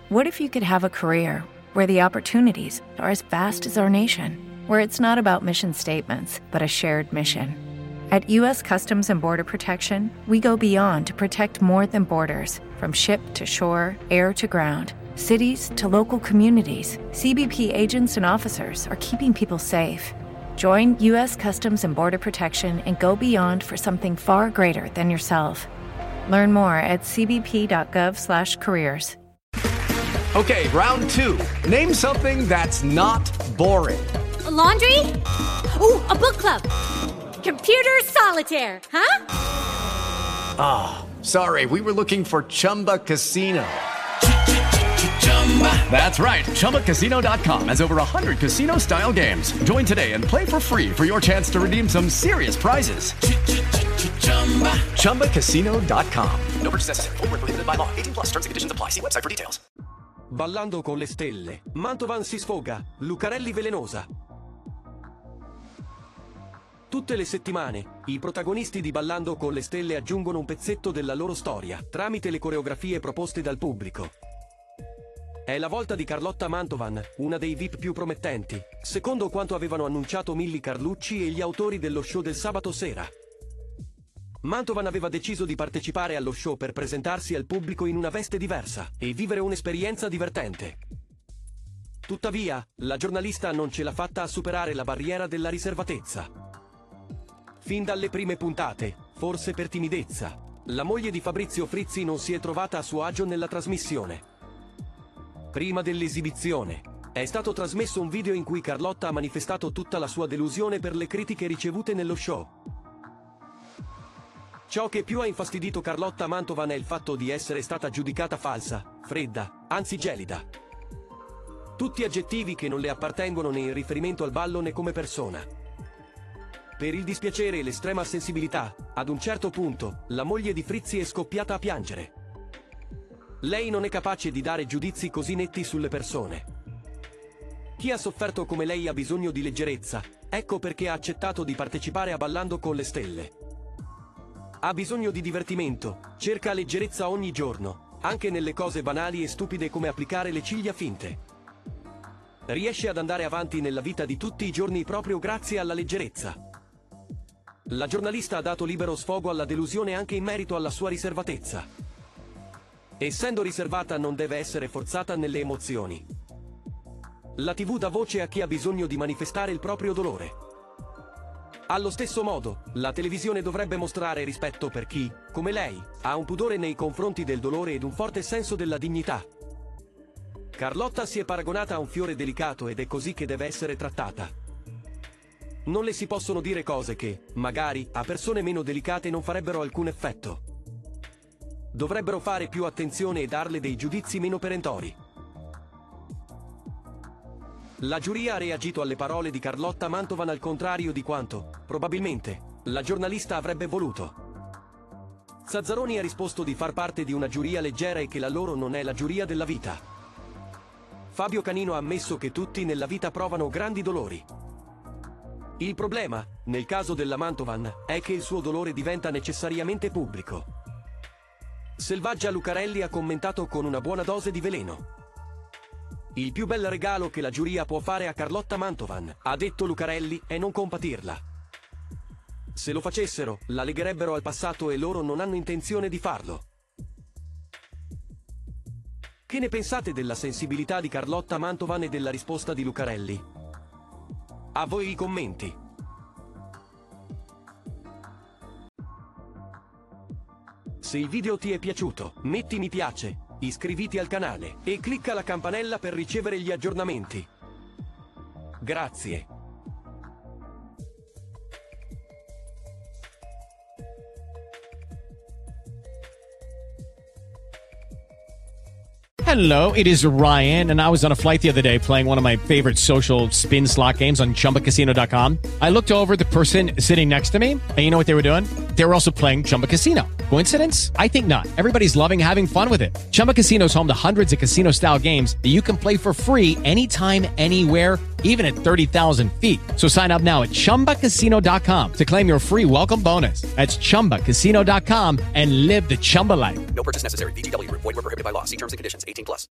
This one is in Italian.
What if you could have a career where the opportunities are as vast as our nation, where it's not about mission statements, but a shared mission? At U.S. Customs and Border Protection, we go beyond to protect more than borders. From ship to shore, air to ground, cities to local communities, CBP agents and officers are keeping people safe. Join U.S. Customs and Border Protection and go beyond for something far greater than yourself. Learn more at cbp.gov/careers. Okay, round two. Name something that's not boring. A laundry? Ooh, a book club. Computer solitaire, huh? Ah, sorry, we were looking for Chumba Casino. That's right, ChumbaCasino.com has over 100 casino-style games. Join today and play for free for your chance to redeem some serious prizes. ChumbaCasino.com. No purchase necessary. Void where prohibited by law. 18+ terms and conditions apply. See website for details. Ballando con le stelle, Mantovan si sfoga, Lucarelli velenosa. Tutte le settimane, i protagonisti di Ballando con le stelle aggiungono un pezzetto della loro storia, tramite le coreografie proposte dal pubblico. È la volta di Carlotta Mantovan, una dei VIP più promettenti, secondo quanto avevano annunciato Milly Carlucci e gli autori dello show del sabato sera. Mantovan aveva deciso di partecipare allo show per presentarsi al pubblico in una veste diversa e vivere un'esperienza divertente. Tuttavia, la giornalista non ce l'ha fatta a superare la barriera della riservatezza. Fin dalle prime puntate, forse per timidezza, la moglie di Fabrizio Frizzi non si è trovata a suo agio nella trasmissione. Prima dell'esibizione, è stato trasmesso un video in cui Carlotta ha manifestato tutta la sua delusione per le critiche ricevute nello show. Ciò che più ha infastidito Carlotta Mantovan è il fatto di essere stata giudicata falsa, fredda, anzi gelida. Tutti aggettivi che non le appartengono né in riferimento al ballo né come persona. Per il dispiacere e l'estrema sensibilità, ad un certo punto, la moglie di Frizzi è scoppiata a piangere. Lei non è capace di dare giudizi così netti sulle persone. Chi ha sofferto come lei ha bisogno di leggerezza, ecco perché ha accettato di partecipare a Ballando con le stelle. Ha bisogno di divertimento, cerca leggerezza ogni giorno, anche nelle cose banali e stupide come applicare le ciglia finte. Riesce ad andare avanti nella vita di tutti i giorni proprio grazie alla leggerezza. La giornalista ha dato libero sfogo alla delusione anche in merito alla sua riservatezza. Essendo riservata non deve essere forzata nelle emozioni. La TV dà voce a chi ha bisogno di manifestare il proprio dolore. Allo stesso modo, la televisione dovrebbe mostrare rispetto per chi, come lei, ha un pudore nei confronti del dolore ed un forte senso della dignità. Carlotta si è paragonata a un fiore delicato ed è così che deve essere trattata. Non le si possono dire cose che, magari, a persone meno delicate non farebbero alcun effetto. Dovrebbero fare più attenzione e darle dei giudizi meno perentori. La giuria ha reagito alle parole di Carlotta Mantovan al contrario di quanto, probabilmente, la giornalista avrebbe voluto. Zazzaroni ha risposto di far parte di una giuria leggera e che la loro non è la giuria della vita. Fabio Canino ha ammesso che tutti nella vita provano grandi dolori. Il problema, nel caso della Mantovan, è che il suo dolore diventa necessariamente pubblico. Selvaggia Lucarelli ha commentato con una buona dose di veleno. Il più bel regalo che la giuria può fare a Carlotta Mantovan, ha detto Lucarelli, è non compatirla. Se lo facessero, la legherebbero al passato e loro non hanno intenzione di farlo. Che ne pensate della sensibilità di Carlotta Mantovan e della risposta di Lucarelli? A voi i commenti. Se il video ti è piaciuto, metti mi piace, iscriviti al canale e clicca la campanella per ricevere gli aggiornamenti. Grazie. Hello, it is Ryan, and I was on a flight the other day playing one of my favorite social spin slot games on ChumbaCasino.com. I looked over at the person sitting next to me, and you know what they were doing? They were also playing Chumba Casino. Coincidence? I think not. Everybody's loving having fun with it. Chumba Casino is home to hundreds of casino-style games that you can play for free anytime, anywhere, even at 30,000 feet. So sign up now at ChumbaCasino.com to claim your free welcome bonus. That's ChumbaCasino.com and live the Chumba life. No purchase necessary. VGW. Void where prohibited by law. See terms and conditions. 18+.